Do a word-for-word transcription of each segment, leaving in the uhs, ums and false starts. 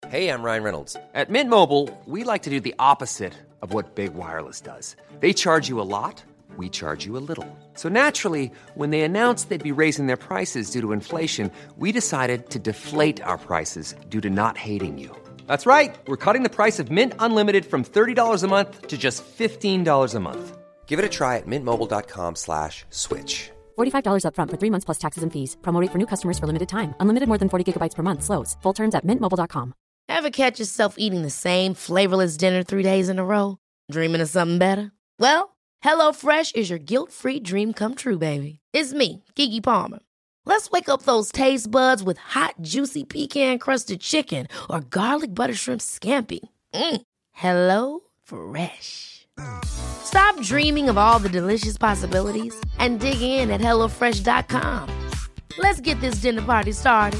Hey, I'm Ryan Reynolds. At Mint Mobile, we like to do the opposite of what Big Wireless does. They charge you a lot, we charge you a little. So naturally, when they announced they'd be raising their prices due to inflation, we decided to deflate our prices due to not hating you. That's right. We're cutting the price of Mint Unlimited from thirty dollars a month to just fifteen dollars a month. Give it a try at mintmobile.com slash switch. forty-five dollars up front for three months plus taxes and fees. Promo rate for new customers for limited time. Unlimited more than forty gigabytes per month. Slows full terms at mint mobile dot com. Ever catch yourself eating the same flavorless dinner three days in a row? Dreaming of something better? Well, HelloFresh is your guilt-free dream come true, baby. It's me, Keke Palmer. Let's wake up those taste buds with hot, juicy pecan-crusted chicken or garlic butter shrimp scampi. Mm. Hello Fresh. Stop dreaming of all the delicious possibilities and dig in at hello fresh dot com. Let's get this dinner party started.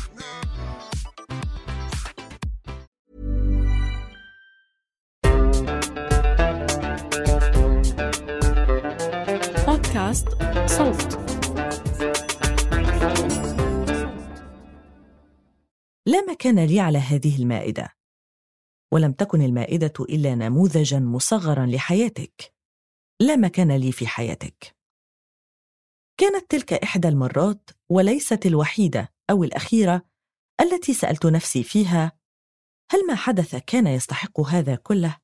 بودكاست صوت. لا مكان لي على هذه المائدة، ولم تكن المائدة إلا نموذجاً مصغراً لحياتك. لا مكان لي في حياتك. كانت تلك إحدى المرات وليست الوحيدة أو الأخيرة التي سألت نفسي فيها: هل ما حدث كان يستحق هذا كله؟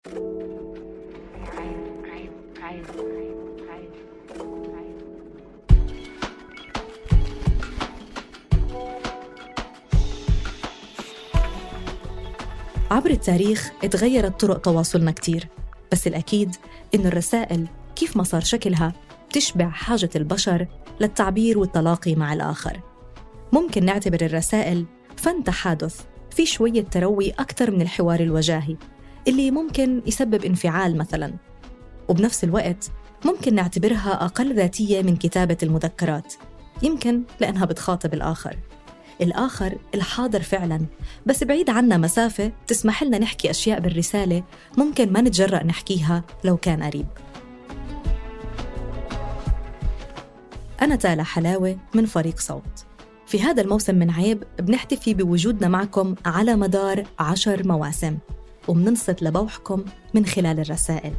عبر التاريخ اتغيرت طرق تواصلنا كتير، بس الأكيد إنه الرسائل كيف ما صار شكلها تشبع حاجة البشر للتعبير والتلاقي مع الآخر. ممكن نعتبر الرسائل فن تحادث في شوية تروي أكثر من الحوار الوجاهي اللي ممكن يسبب انفعال مثلاً، وبنفس الوقت ممكن نعتبرها أقل ذاتية من كتابة المذكرات، يمكن لأنها بتخاطب الآخر الآخر الحاضر فعلاً، بس بعيد عنا مسافة تسمح لنا نحكي أشياء بالرسالة ممكن ما نتجرأ نحكيها لو كان قريب. أنا تالا حلاوة من فريق صوت. في هذا الموسم من عيب بنحتفي بوجودنا معكم على مدار عشر مواسم، ومننصت لبوحكم من خلال الرسائل.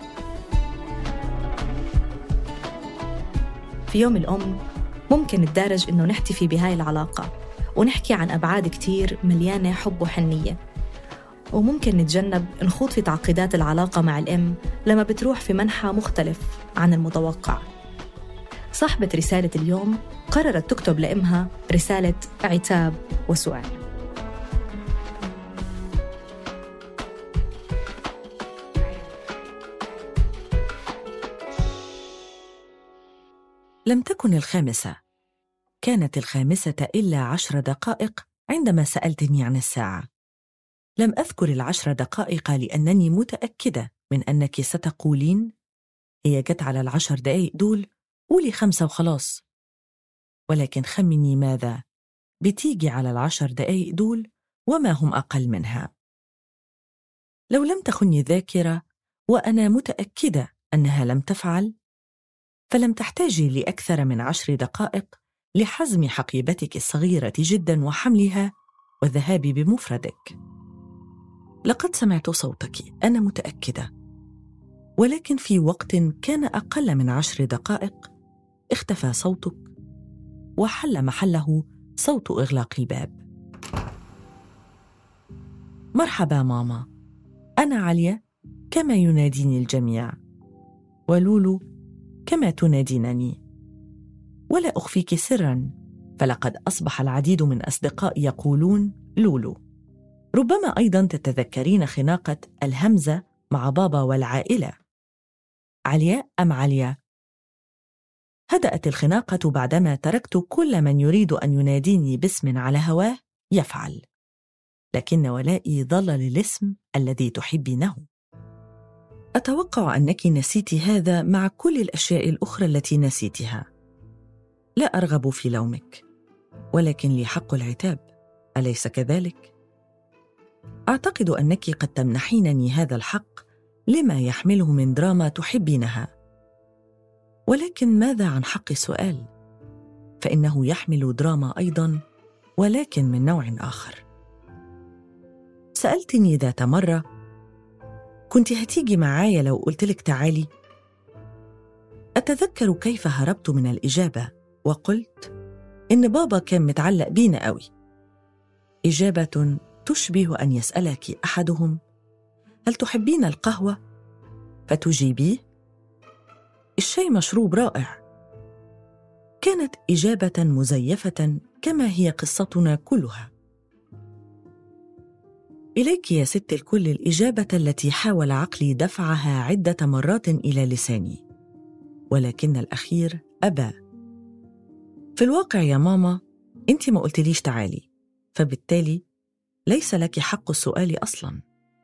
في يوم الأم ممكن نتدارج إنه نحتفي بهاي العلاقة ونحكي عن أبعاد كتير مليانة حب وحنية، وممكن نتجنب نخوض في تعقيدات العلاقة مع الأم لما بتروح في منحى مختلف عن المتوقع. صاحبة رسالة اليوم قررت تكتب لأمها رسالة عتاب وسؤال. لم تكن الخامسة، كانت الخامسة إلا عشر دقائق عندما سألتني عن الساعة. لم أذكر العشر دقائق لأنني متأكدة من أنك ستقولين: هي جت على العشر دقائق دول، قولي خمسة وخلاص. ولكن خمني ماذا؟ بتيجي على العشر دقائق دول وما هم أقل منها. لو لم تخني الذاكرة، وأنا متأكدة أنها لم تفعل، فلم تحتاجي لأكثر من عشر دقائق لحزم حقيبتك الصغيرة جداً وحملها والذهاب بمفردك. لقد سمعت صوتك، أنا متأكدة، ولكن في وقت كان أقل من عشر دقائق اختفى صوتك وحل محله صوت إغلاق الباب. مرحبا ماما، أنا عليا كما يناديني الجميع، ولولو كما تنادينني. ولا أخفيك سراً، فلقد أصبح العديد من أصدقائي يقولون لولو. ربما أيضاً تتذكرين خناقة الهمزة مع بابا والعائلة. عليا أم عليا؟ هدأت الخناقة بعدما تركت كل من يريد أن يناديني باسم على هواه يفعل، لكن ولائي ظل للاسم الذي تحبينه. أتوقع أنك نسيت هذا مع كل الأشياء الأخرى التي نسيتها. لا أرغب في لومك، ولكن لي حق العتاب، أليس كذلك؟ أعتقد أنك قد تمنحينني هذا الحق لما يحمله من دراما تحبينها، ولكن ماذا عن حق السؤال؟ فإنه يحمل دراما أيضاً، ولكن من نوع آخر. سألتني ذات مرة: كنت هتيجي معايا لو قلتلك تعالي؟ أتذكر كيف هربت من الإجابة وقلت إن بابا كان متعلق بينا قوي. إجابة تشبه أن يسألك أحدهم: هل تحبين القهوة؟ فتجيبيه: الشاي مشروب رائع. كانت إجابة مزيفة كما هي قصتنا كلها. إليك يا ست الكل الإجابة التي حاول عقلي دفعها عدة مرات إلى لساني، ولكن الأخير أبى. في الواقع يا ماما أنت ما قلتليش تعالي، فبالتالي ليس لك حق السؤال أصلاً.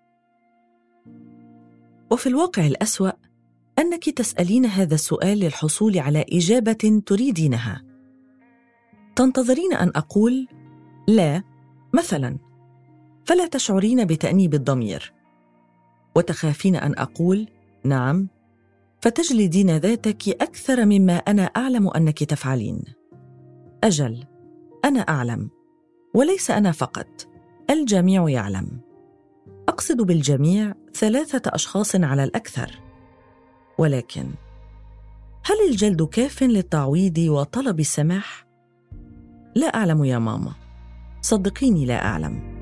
وفي الواقع الأسوأ أنك تسألين هذا السؤال للحصول على إجابة تريدينها. تنتظرين أن أقول لا مثلاً، فلا تشعرين بتأنيب الضمير، وتخافين أن أقول نعم، فتجلدين ذاتك أكثر مما أنا أعلم أنك تفعلين. أجل، أنا أعلم، وليس أنا فقط، الجميع يعلم. أقصد بالجميع ثلاثة أشخاص على الأكثر. ولكن هل الجلد كاف للتعويض وطلب السماح؟ لا أعلم يا ماما، صدقيني لا أعلم.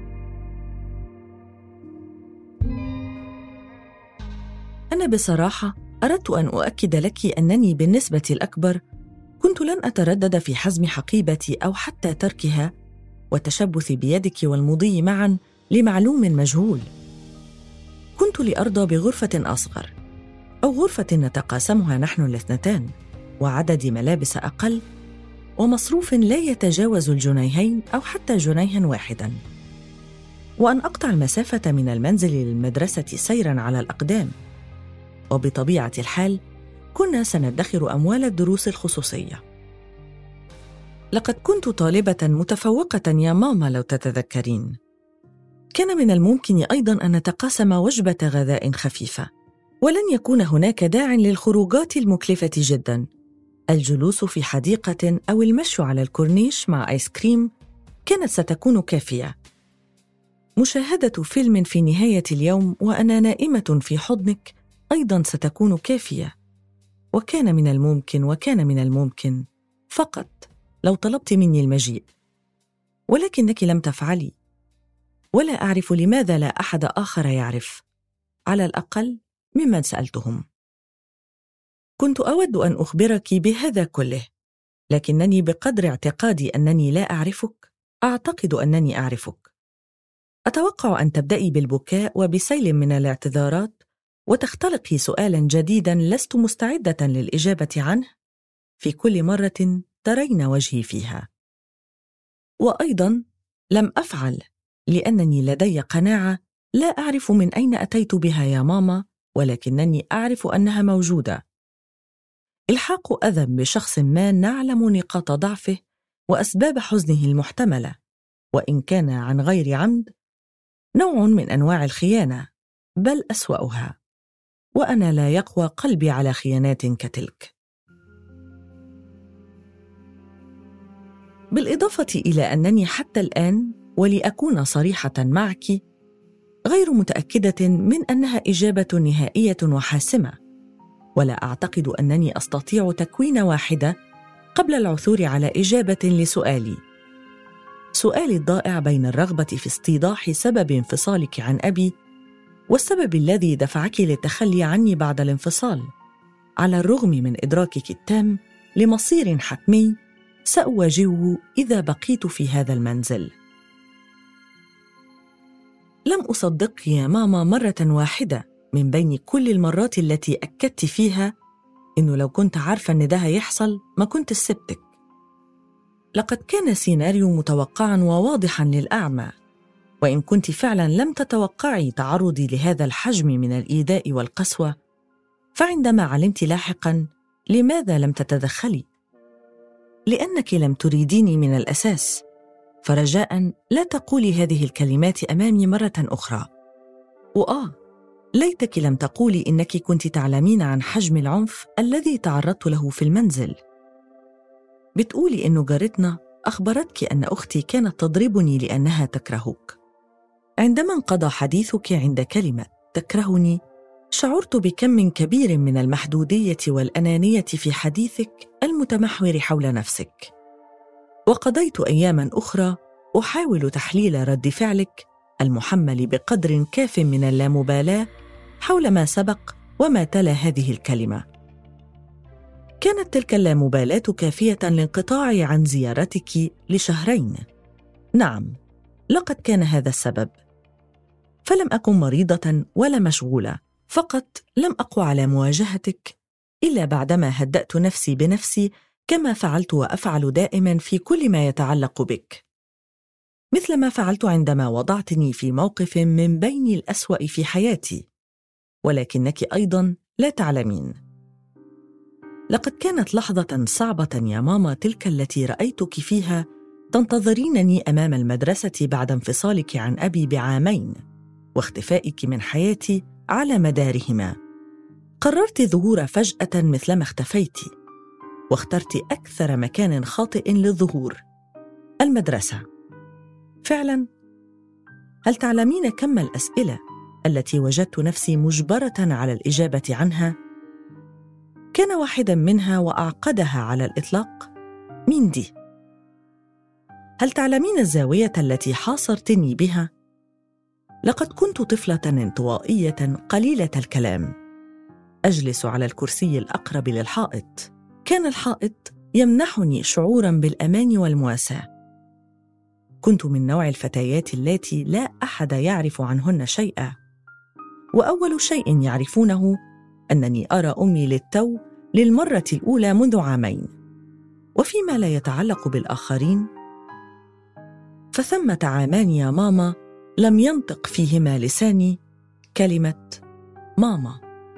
أنا بصراحة أردت أن أؤكد لك أنني بالنسبة الأكبر كنت لن أتردد في حزم حقيبتي أو حتى تركها والتشبث بيدك والمضي معاً لمعلوم مجهول. كنت لأرضى بغرفة أصغر، أو غرفة نتقاسمها نحن الاثنتان، وعدد ملابس أقل، ومصروف لا يتجاوز الجنيهين أو حتى جنيها واحداً، وأن أقطع المسافة من المنزل للمدرسة سيراً على الأقدام. وبطبيعة الحال كنا سندخر أموال الدروس الخصوصية. لقد كنت طالبة متفوقة يا ماما لو تتذكرين. كان من الممكن أيضاً أن نتقاسم وجبة غذاء خفيفة، ولن يكون هناك داع للخروجات المكلفة جداً. الجلوس في حديقة أو المشي على الكورنيش مع آيس كريم كانت ستكون كافية. مشاهدة فيلم في نهاية اليوم وأنا نائمة في حضنك أيضاً ستكون كافية. وكان من الممكن وكان من الممكن فقط لو طلبت مني المجيء، ولكنك لم تفعلي، ولا أعرف لماذا لا أحد آخر يعرف، على الأقل ممن سألتهم. كنت أود أن أخبرك بهذا كله، لكنني بقدر اعتقادي أنني لا أعرفك أعتقد أنني أعرفك. أتوقع أن تبدأي بالبكاء وبسيل من الاعتذارات وتختلقي سؤالاً جديداً لست مستعدة للإجابة عنه في كل مرة ترين وجهي فيها. وأيضاً لم أفعل لأنني لدي قناعة لا أعرف من أين أتيت بها يا ماما، ولكنني أعرف أنها موجودة. إلحاق أذى بشخص ما نعلم نقاط ضعفه وأسباب حزنه المحتملة، وإن كان عن غير عمد، نوع من أنواع الخيانة، بل أسوأها، وأنا لا يقوى قلبي على خيانات كتلك. بالإضافة إلى أنني حتى الآن، ولأكون صريحة معك، غير متأكدة من أنها إجابة نهائية وحاسمة، ولا أعتقد أنني أستطيع تكوين واحدة قبل العثور على إجابة لسؤالي. سؤالي الضائع بين الرغبة في استيضاح سبب انفصالك عن أبي والسبب الذي دفعك للتخلي عني بعد الانفصال، على الرغم من إدراكك التام لمصير حتمي سأواجهه إذا بقيت في هذا المنزل. لم أصدق يا ماما مرة واحدة من بين كل المرات التي أكدت فيها إنه لو كنت عارفة إن ده هيحصل ما كنت سبتك. لقد كان سيناريو متوقعاً وواضحاً للأعمى، وإن كنت فعلاً لم تتوقعي تعرضي لهذا الحجم من الإيذاء والقسوة، فعندما علمت لاحقاً لماذا لم تتدخلي؟ لأنك لم تريديني من الأساس، فرجاءً لا تقولي هذه الكلمات أمامي مرة أخرى. وآه، ليتك لم تقولي إنك كنت تعلمين عن حجم العنف الذي تعرضت له في المنزل. بتقولي إنه جارتنا أخبرتك أن أختي كانت تضربني لأنها تكرهك. عندما انقضى حديثك عند كلمة تكرهني، شعرت بكم كبير من المحدودية والأنانية في حديثك المتمحور حول نفسك. وقضيت أياماً أخرى أحاول تحليل رد فعلك المحمل بقدر كاف من اللامبالاة حول ما سبق وما تلا هذه الكلمة. كانت تلك اللامبالاة كافية لانقطاعي عن زيارتك لشهرين. نعم، لقد كان هذا السبب. فلم أكن مريضة ولا مشغولة، فقط لم أقوى على مواجهتك إلا بعدما هدأت نفسي بنفسي، كما فعلت وأفعل دائما في كل ما يتعلق بك، مثل ما فعلت عندما وضعتني في موقف من بين الأسوأ في حياتي. ولكنك أيضا لا تعلمين، لقد كانت لحظة صعبة يا ماما تلك التي رأيتك فيها تنتظرينني أمام المدرسة بعد انفصالك عن أبي بعامين واختفائك من حياتي على مدارهما. قررت ظهور فجأة مثلما اختفيت، واخترت أكثر مكان خاطئ للظهور، المدرسة. فعلاً، هل تعلمين كم الأسئلة التي وجدت نفسي مجبرة على الإجابة عنها؟ كان واحداً منها وأعقدها على الإطلاق: مين دي؟ هل تعلمين الزاوية التي حاصرتني بها؟ لقد كنت طفلة انطوائية قليلة الكلام، أجلس على الكرسي الأقرب للحائط. كان الحائط يمنحني شعوراً بالأمان والمواساة. كنت من نوع الفتيات اللاتي لا أحد يعرف عنهن شيئا، وأول شيء يعرفونه أنني أرى أمي للتو للمرة الأولى منذ عامين. وفيما لا يتعلق بالآخرين، فثمة عامان يا ماما لم ينطق فيهما لساني كلمة ماما.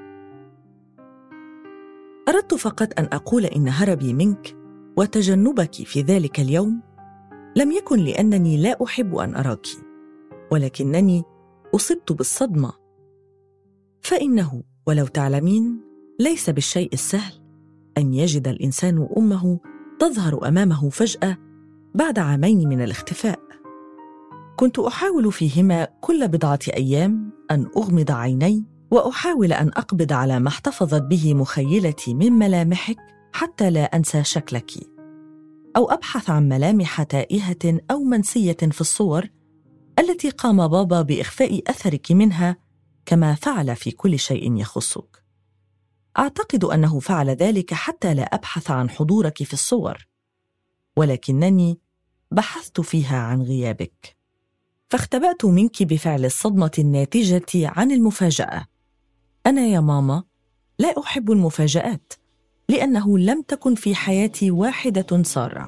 أردت فقط أن أقول إن هربي منك وتجنبك في ذلك اليوم لم يكن لأنني لا أحب أن أراك، ولكنني أصبت بالصدمة. فإنه ولو تعلمين ليس بالشيء السهل أن يجد الإنسان أمه تظهر أمامه فجأة بعد عامين من الاختفاء. كنت أحاول فيهما كل بضعة أيام أن أغمض عيني وأحاول أن أقبض على ما احتفظت به مخيلتي من ملامحك حتى لا أنسى شكلك، أو أبحث عن ملامح تائهة أو منسية في الصور التي قام بابا بإخفاء أثرك منها كما فعل في كل شيء يخصك. أعتقد أنه فعل ذلك حتى لا أبحث عن حضورك في الصور، ولكنني بحثت فيها عن غيابك، فاختبأت منك بفعل الصدمة الناتجة عن المفاجأة. أنا يا ماما لا أحب المفاجآت، لأنه لم تكن في حياتي واحدة سارة.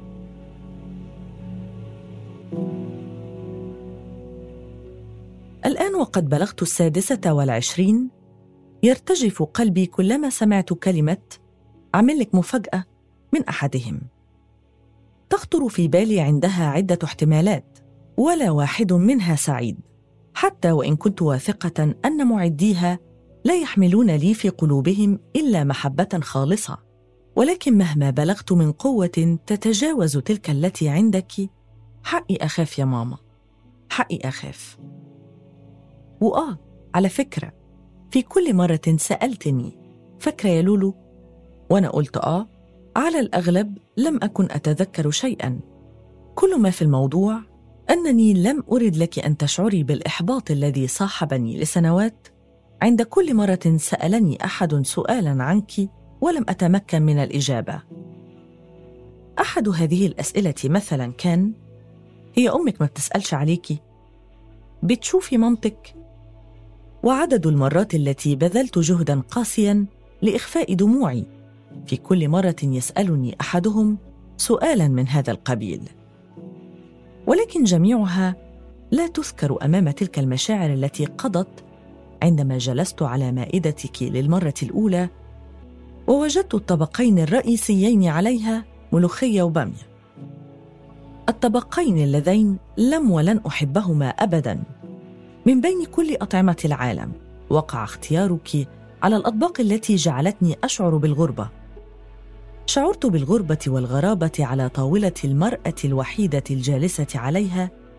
الآن وقد بلغت السادسة والعشرين، يرتجف قلبي كلما سمعت كلمة أعمل لك مفاجأة من أحدهم. تخطر في بالي عندها عدة احتمالات، ولا واحد منها سعيد، حتى وإن كنت واثقة أن معديها لا يحملون لي في قلوبهم إلا محبة خالصة. ولكن مهما بلغت من قوة تتجاوز تلك التي عندك، حقي أخاف يا ماما، حقي أخاف. وآه على فكرة، في كل مرة سألتني فاكرة يا لولو؟ وأنا قلت آه، على الأغلب لم أكن أتذكر شيئاً. كل ما في الموضوع أنني لم أرد لك أن تشعري بالإحباط الذي صاحبني لسنوات عند كل مرة سألني أحد سؤالاً عنك ولم أتمكن من الإجابة. أحد هذه الأسئلة مثلاً كان: هي أمك ما بتسألش عليكي؟ بتشوفي مامتك؟ وعدد المرات التي بذلت جهداً قاسياً لإخفاء دموعي في كل مرة يسألني أحدهم سؤالاً من هذا القبيل. ولكن جميعها لا تذكر أمام تلك المشاعر التي قضت عندما جلست على مائدتك للمرة الأولى ووجدت الطبقين الرئيسيين عليها ملوخية وبامية، الطبقين اللذين لم ولن أحبهما أبداً. من بين كل أطعمة العالم وقع اختيارك على الأطباق التي جعلتني أشعر بالغربة. شعرت بالغربة والغرابة على طاولة المرأة الوحيدة الجالسة عليها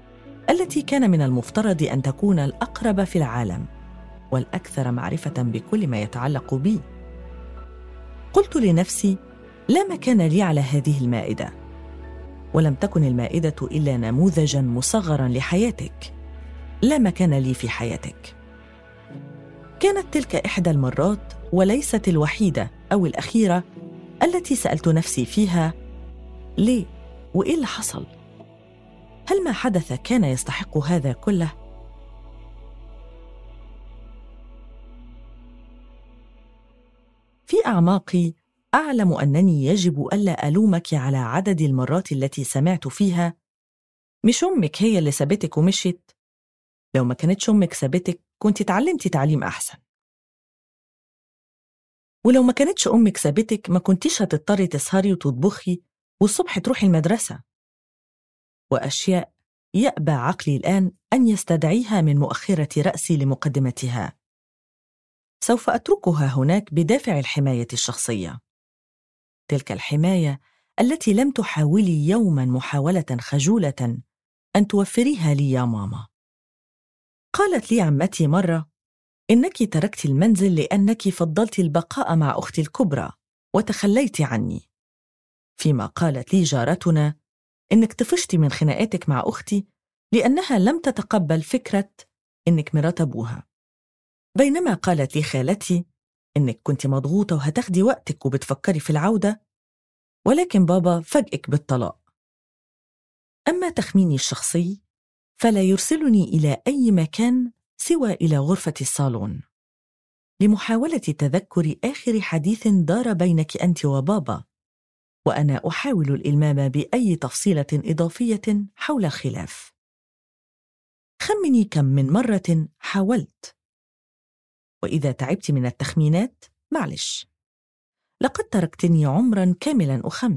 التي كان من المفترض أن تكون الأقرب في العالم والأكثر معرفة بكل ما يتعلق بي. قلت لنفسي: لا مكان لي على هذه المائدة. ولم تكن المائدة إلا نموذجاً مصغراً لحياتك. لا مكان لي في حياتك. كانت تلك إحدى المرات وليست الوحيدة أو الأخيرة التي سألت نفسي فيها: ليه؟ وإيه اللي حصل؟ هل ما حدث كان يستحق هذا كله؟ في أعماقي أعلم أنني يجب ألا ألومك على عدد المرات التي سمعت فيها: مش أمك هي اللي سابتك ومشيت؟ لو ما كانتش أمك سابتك كنت تعلمتي تعليم أحسن. ولو ما كانتش أمك سابتك ما كنتيش هتضطري تسهري وتطبخي والصبح تروحي المدرسة. وأشياء يأبى عقلي الآن أن يستدعيها من مؤخرة رأسي لمقدمتها. سوف أتركها هناك بدافع الحماية الشخصية. تلك الحماية التي لم تحاولي يوماً محاولة خجولة أن توفريها لي يا ماما. قالت لي عمتي مرة: إنك تركت المنزل لأنك فضلت البقاء مع أختي الكبرى وتخليت عني. فيما قالت لي جارتنا: إنك طفشتي من خناقاتك مع أختي لأنها لم تتقبل فكرة إنك مرات أبوها. بينما قالت لي خالتي: إنك كنت مضغوطة وهتاخدي وقتك وبتفكري في العودة، ولكن بابا فاجئك بالطلاق. أما تخميني الشخصي فلا يرسلني إلى أي مكان سوى إلى غرفة الصالون لمحاولة تذكر آخر حديث دار بينك أنت وبابا، وأنا أحاول الإلمام بأي تفصيلة إضافية حول الخلاف. خمني كم من مرة حاولت. وإذا تعبت من التخمينات معلش، لقد تركتني عمراً كاملاً أخمن.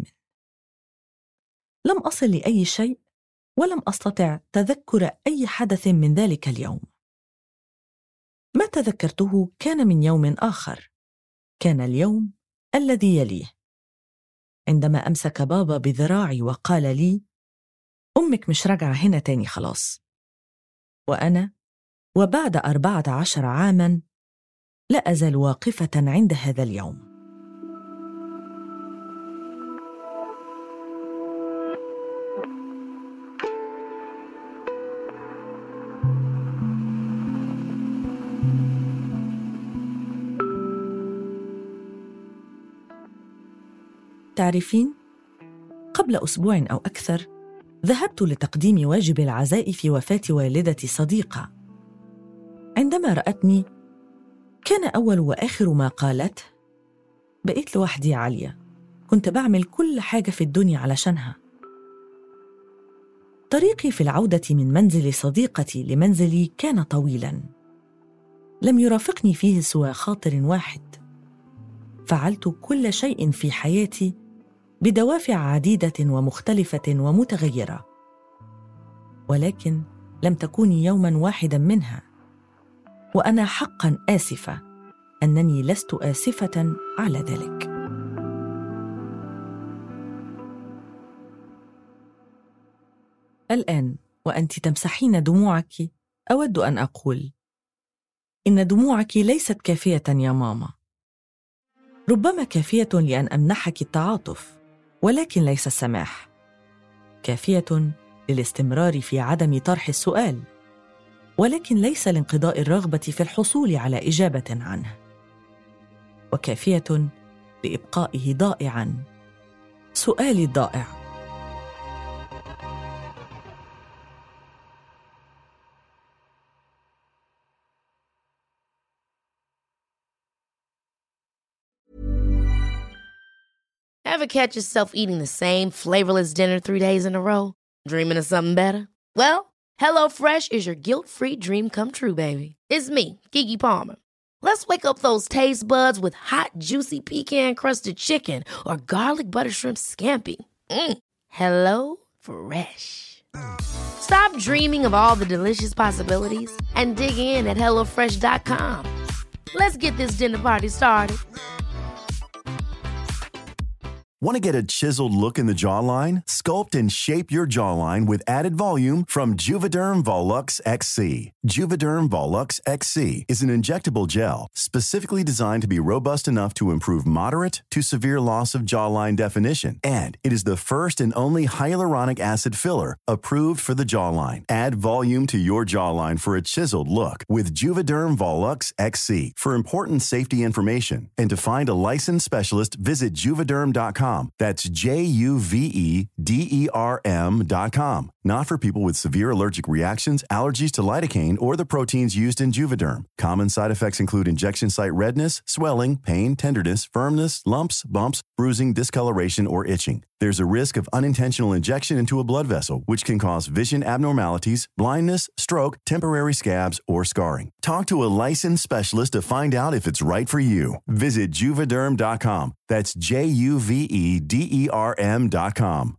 لم أصل لأي شيء ولم أستطع تذكر أي حدث من ذلك اليوم. ما تذكرته كان من يوم آخر. كان اليوم الذي يليه، عندما أمسك بابا بذراعي وقال لي: أمك مش راجعة هنا تاني خلاص. وأنا وبعد أربعة عشر عاماً لا أزال واقفة عند هذا اليوم. تعرفين، قبل أسبوع أو أكثر ذهبت لتقديم واجب العزاء في وفاة والدة صديقة. عندما رأتني كان أول وآخر ما قالت: بقيت لوحدي يا عليا، كنت بعمل كل حاجة في الدنيا علشانها. طريقي في العودة من منزل صديقتي لمنزلي كان طويلاً، لم يرافقني فيه سوى خاطر واحد. فعلت كل شيء في حياتي بدوافع عديدة ومختلفة ومتغيرة، ولكن لم تكوني يوماً واحداً منها. وأنا حقاً آسفة أنني لست آسفة على ذلك. الآن وأنت تمسحين دموعك أود أن أقول: إن دموعك ليست كافية يا ماما. ربما كافية لأن أمنحك التعاطف، ولكن ليس السماح. كافية للاستمرار في عدم طرح السؤال، ولكن ليس لانقضاء الرغبة في الحصول على إجابة عنه. وكافية لإبقائه ضائعاً، سؤالي الضائع. Ever catch yourself eating the same flavorless dinner three days in a row? Dreaming of something better? Well, HelloFresh is your guilt-free dream come true, baby. It's me, Keke Palmer. Let's wake up those taste buds with hot, juicy pecan-crusted chicken or garlic butter shrimp scampi. Mm. Hello Fresh. Stop dreaming of all the delicious possibilities and dig in at hello fresh dot com. Let's get this dinner party started. Want to get a chiseled look in the jawline? Sculpt and shape your jawline with added volume from Juvederm Volux X C. Juvederm Volux X C is an injectable gel specifically designed to be robust enough to improve moderate to severe loss of jawline definition. And it is the first and only hyaluronic acid filler approved for the jawline. Add volume to your jawline for a chiseled look with Juvederm Volux X C. For important safety information and to find a licensed specialist, visit juvederm dot com. That's J U V E D E R M dot com. Not for people with severe allergic reactions, allergies to lidocaine, or the proteins used in Juvederm. Common side effects include injection site redness, swelling, pain, tenderness, firmness, lumps, bumps, bruising, discoloration, or itching. There's a risk of unintentional injection into a blood vessel, which can cause vision abnormalities, blindness, stroke, temporary scabs, or scarring. Talk to a licensed specialist to find out if it's right for you. Visit juvederm dot com. That's J U V E D E R M dot com.